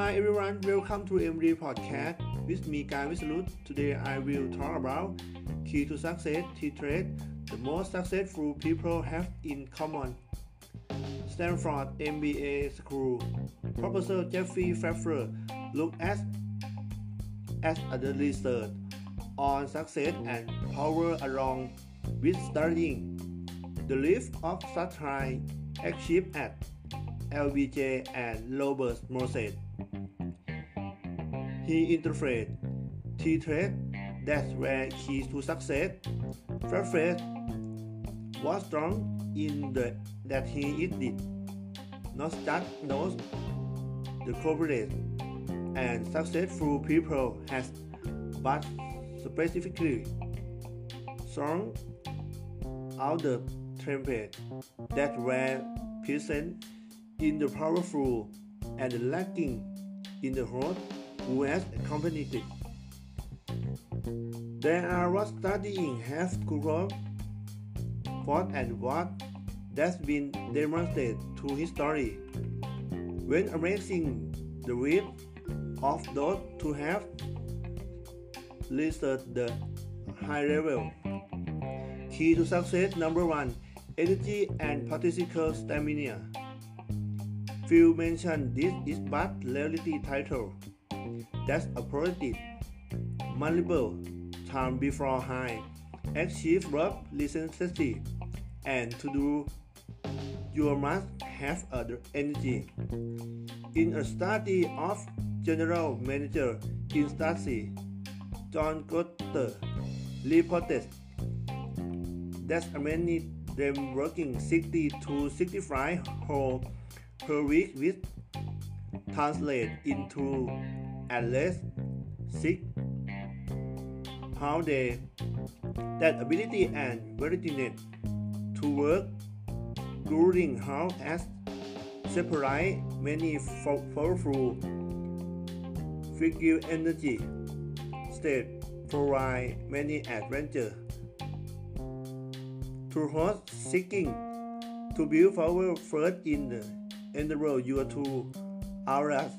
Hi everyone, welcome to MD Podcast with me, Guy Wislut. Today I will talk about key to success, key traits the most successful people have in common. Stanford MBA School Professor Jeffrey Pfeffer looked at the research on success and power along with studying the life of such high achieved at LBJ and Robert Moses. He interpreted key traits that were keys to success. Pfeffer was strong in that he did not just knows the corporate and successful people has, but specifically strong out the template that were present in the powerful and lacking in the host who has accompanied it. There are what studying has covered what and what that's been demonstrated through history. When amazing the width of those who have reached the high level. Key to success number 1: energy and political stamina. Few mention this is but reality title. That's a positive, multiple time before high, achieve work recency, and to do you must have other energy. In a study of general manager in Stasi, John Gotter reported that many them working 60 to 65 hours per week which translate into at least 6 how they that ability and willingness to work during how as separate many powerful figure energy state provide many adventure to host seeking to build power first in the endeavor your two auras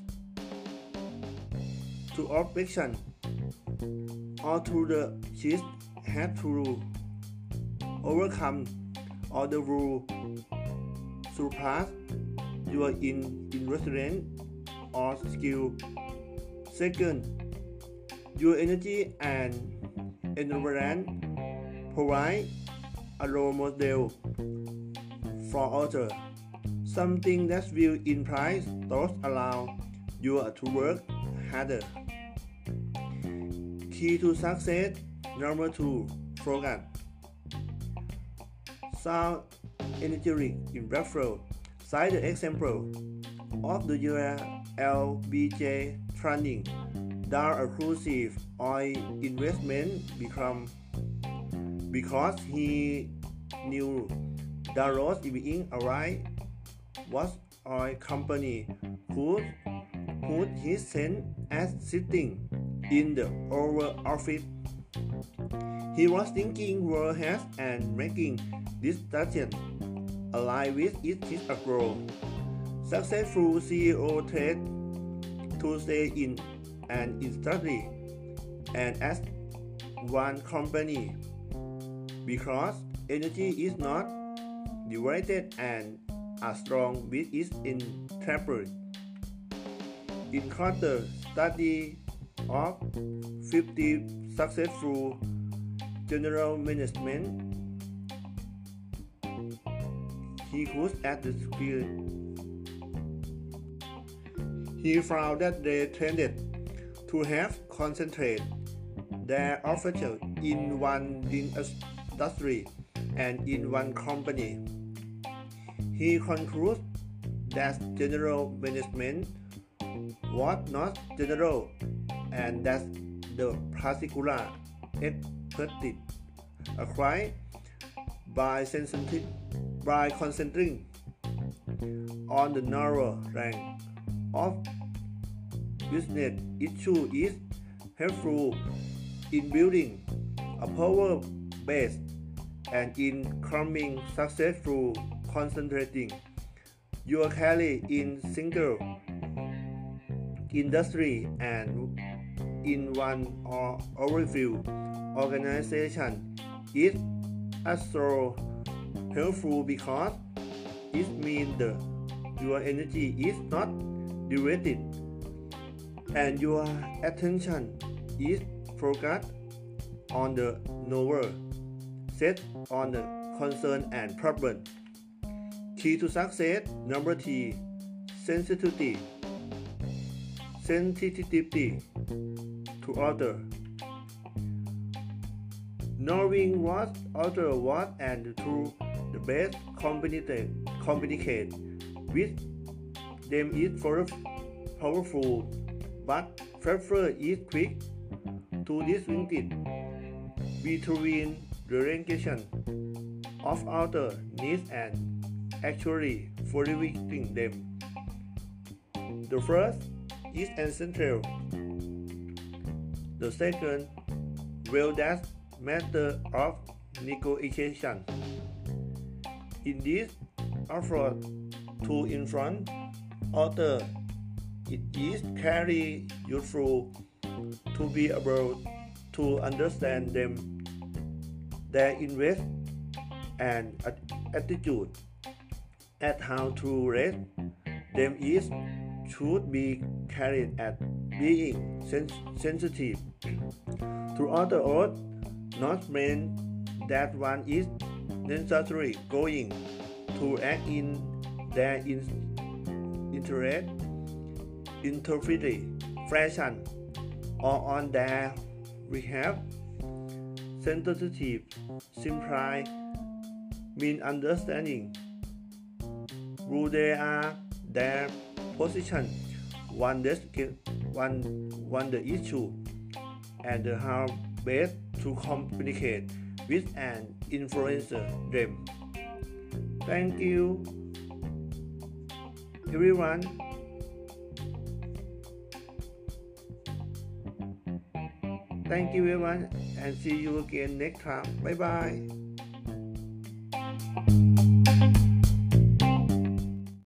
to operation or to the cheese have to overcome all the rule surpass your investment or skill. Second, your energy and environment provide a role model for others, something that will imply those allow you to work harder. Key to success number 2: focus. Sound energetic in Bradford cite the example of the year LBJ training down a crucial oil investment because he knew the road being arrived was oil company could put his sense as sitting in the Oval Office. He was thinking world has and making this decision align with his approach. Successful CEO tend to stay in an industry and as one company because energy is not divided and are strong with its interpret. In Carter study of 50 successful general management, he could at the skill. He found that they tended to have concentrated their officials in one industry and in one company. He concludes that general management was not general and that the particular expertise acquired by concentrating on the narrow range of business issue is helpful in building a power base and in becoming successful. Concentrating your carry in single industry and in one or overview organization is also helpful because it means your energy is not directed and your attention is focused on the knower, set on the concern and problem. Key to success number 3, sensitivity to other. Knowing what others want and to the best communicate with them is powerful, but prefer is quick to distinguish between the realization of other needs and actually fulfilling them. The first is essential. The second, well, that's matter of negotiation. In this effort to influence others, it is very useful to be able to understand them, their interest and attitude, and how to raise them is should be carried at being sensitive to others, not mean that one is necessarily going to act in their interest, interpret fashion, or on their behalf. Sensitive simply mean understanding who they are, their position, one the issue, and how best to communicate with and influence them. Thank you, everyone. Thank you, everyone, and see you again next time. Bye bye.